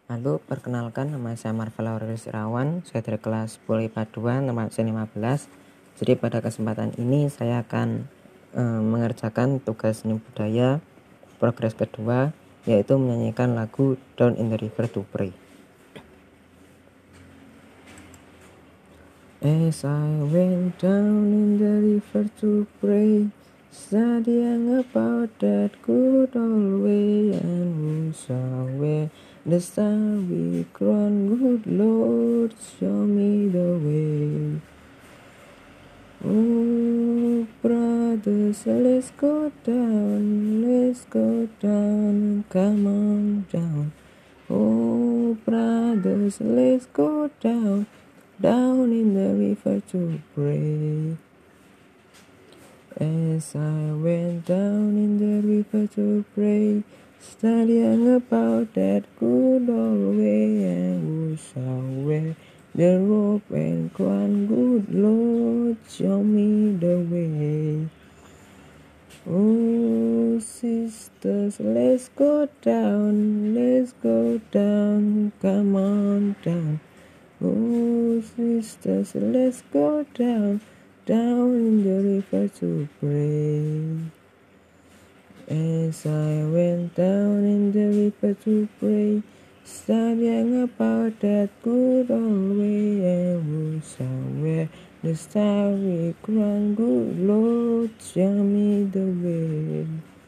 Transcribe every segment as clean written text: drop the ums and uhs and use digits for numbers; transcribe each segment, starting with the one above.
Halo, perkenalkan nama saya Marvel Aurelius Irawan. Saya dari kelas 10 IPA 2, nomor absen 15. Jadi pada kesempatan ini saya akan mengerjakan tugas seni budaya progres kedua, yaitu menyanyikan lagu Down in the River to Pray. As I went down in the river to pray, studying about that good old way, and who saw where the star we crown, good Lord, show me the way. Oh, brothers, let's go down, come on down. Oh, brothers, let's go down in the river to pray. As I went down in the river to pray, studying about that good old way, and who shall wear the robe and crown, good Lord, show me the way. Oh, sisters, let's go down, come on down. Oh, sisters, let's go down in the river to pray. As I went down in the river to pray, studying about that good old way, and who shall wear the starry crown, good Lord, show me the way.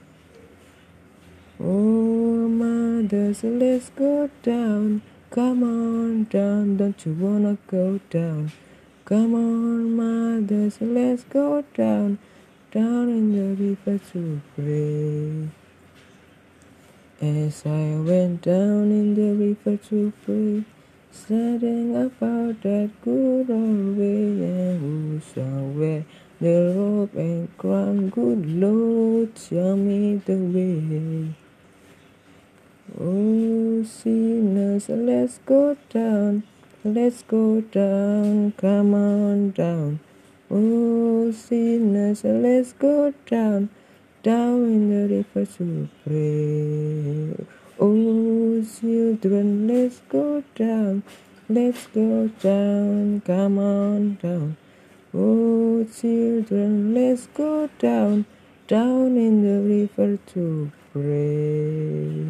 Oh, mothers, let's go down, come on down, don't you wanna go down? Come on, mothers, let's go down in the river to pray. As I went down in the river to pray, studying about that good old way, and who shall wear the robe and crown, good Lord, show me the way. Oh, sinners, let's go down, come on down. Oh, sinners, let's go down in the river to pray. Oh, children, let's go down, come on down. Oh, children, let's go down in the river to pray.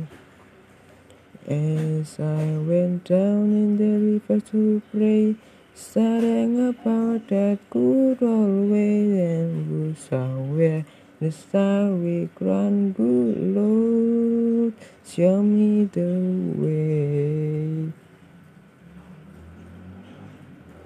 As I went down in the river to pray, studying about that good old way, and who shall wear the starry crown, good Lord, show me the way.